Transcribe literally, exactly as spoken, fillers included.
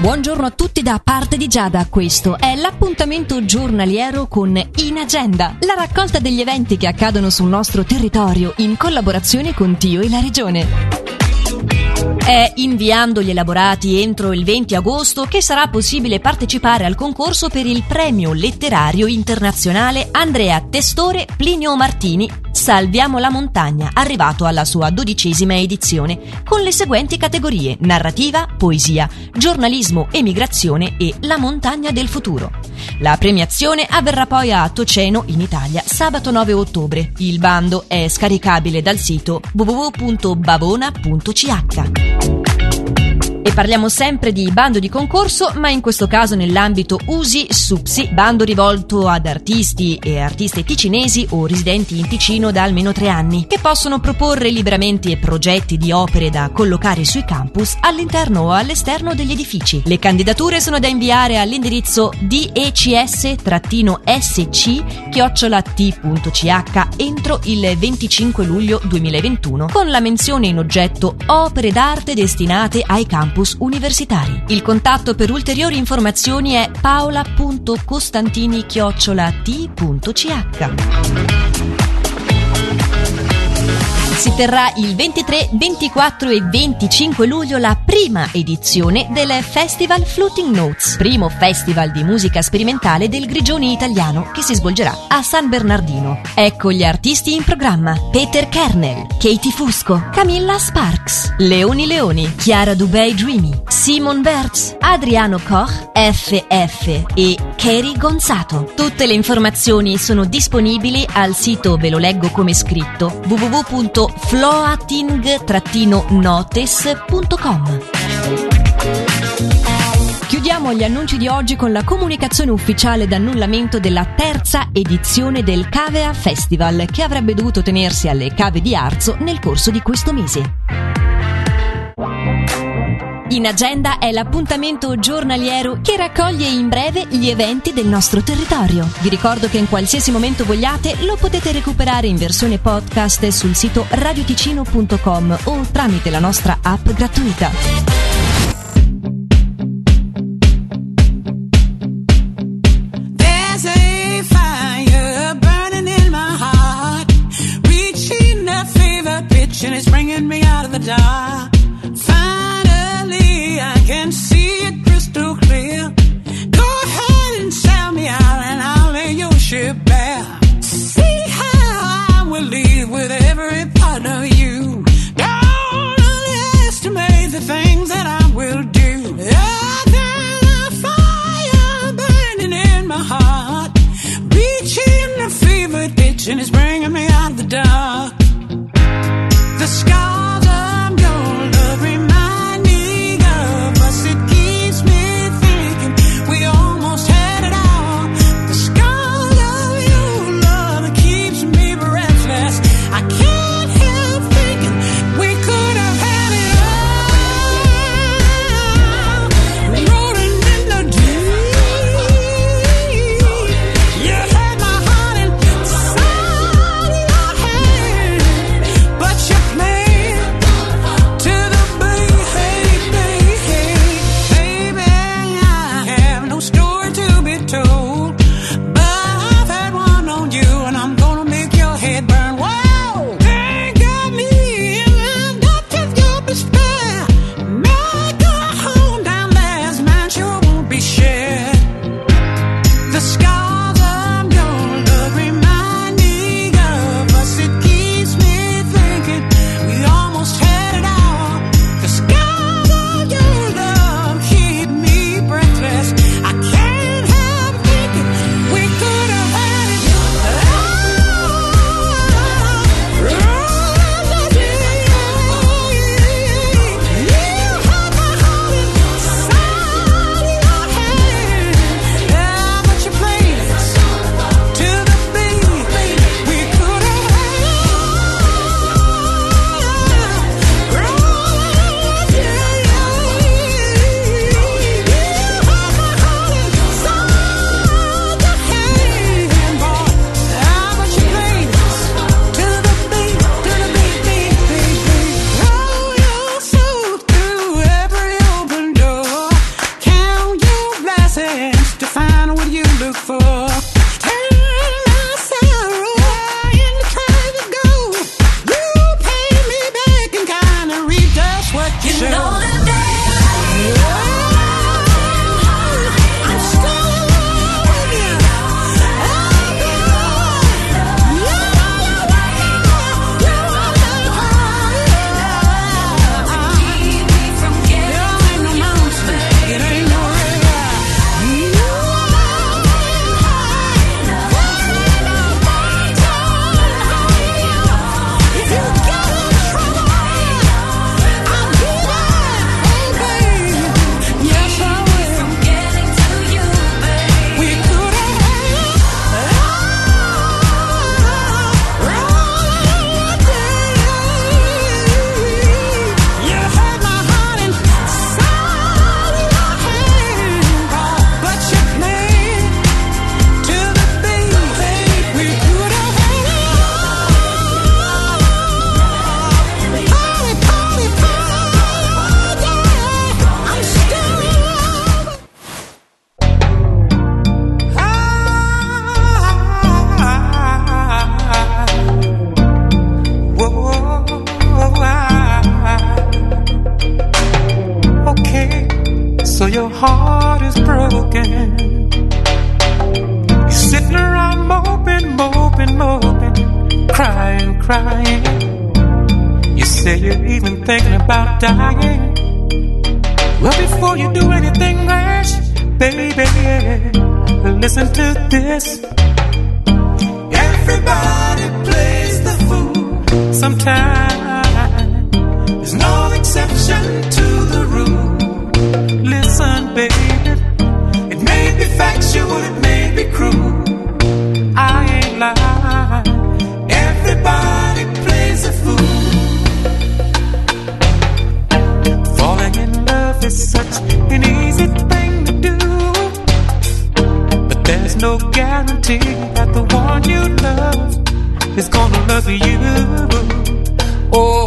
Buongiorno a tutti da parte di Giada, questo è l'appuntamento giornaliero con In Agenda, la raccolta degli eventi che accadono sul nostro territorio in collaborazione con Tio e la Regione. È inviando gli elaborati entro il venti agosto che sarà possibile partecipare al concorso per il premio letterario internazionale Andrea Testore Plinio Martini Salviamo la montagna, arrivato alla sua dodicesima edizione, con le seguenti categorie: narrativa, poesia, giornalismo, emigrazione e la montagna del futuro. La premiazione avverrà poi a Toceno, in Italia, sabato nove ottobre. Il bando è scaricabile dal sito w w w punto bavona punto c h. E parliamo sempre di bando di concorso, ma in questo caso nell'ambito U S I SUPSI, bando rivolto ad artisti e artiste ticinesi o residenti in Ticino da almeno tre anni, che possono proporre liberamente progetti di opere da collocare sui campus, all'interno o all'esterno degli edifici. Le candidature sono da inviare all'indirizzo d e c s s c chiocciola t punto c h entro il venticinque luglio duemilaventuno, con la menzione in oggetto opere d'arte destinate ai campus universitari. Il contatto per ulteriori informazioni è paola punto costantini chiocciola t punto c h. Si terrà il ventitré, ventiquattro e venticinque luglio la prima edizione del Festival Floating Notes, primo festival di musica sperimentale del Grigioni italiano che si svolgerà a San Bernardino. Ecco gli artisti in programma: Peter Kernel, Katie Fusco, Camilla Sparks, Leoni Leoni, Chiara Dubey Dreamy, Simon Bertz, Adriano Koch, F F e Kerry Gonzato. Tutte le informazioni sono disponibili al sito, ve lo leggo come scritto, w w w punto floating notes punto com. Chiudiamo gli annunci di oggi con la comunicazione ufficiale d'annullamento della terza edizione del Cavea Festival, che avrebbe dovuto tenersi alle Cave di Arzo nel corso di questo mese. In Agenda è l'appuntamento giornaliero che raccoglie in breve gli eventi del nostro territorio. Vi ricordo che in qualsiasi momento vogliate lo potete recuperare in versione podcast sul sito radioticino punto com o tramite la nostra app gratuita. There's a fire burning in my heart, reaching a fever pitch and it's bringing me out of the dark. I can see it crystal clear. Go ahead and sell me out and I'll lay your ship bare. See how I will leave with every part of you. Don't underestimate the things that I will do. Oh, there's a fire burning in my heart, reaching a fever pitch and it's bringing me out of the dark. The scars of your love remind That the one you love is gonna love you. Oh,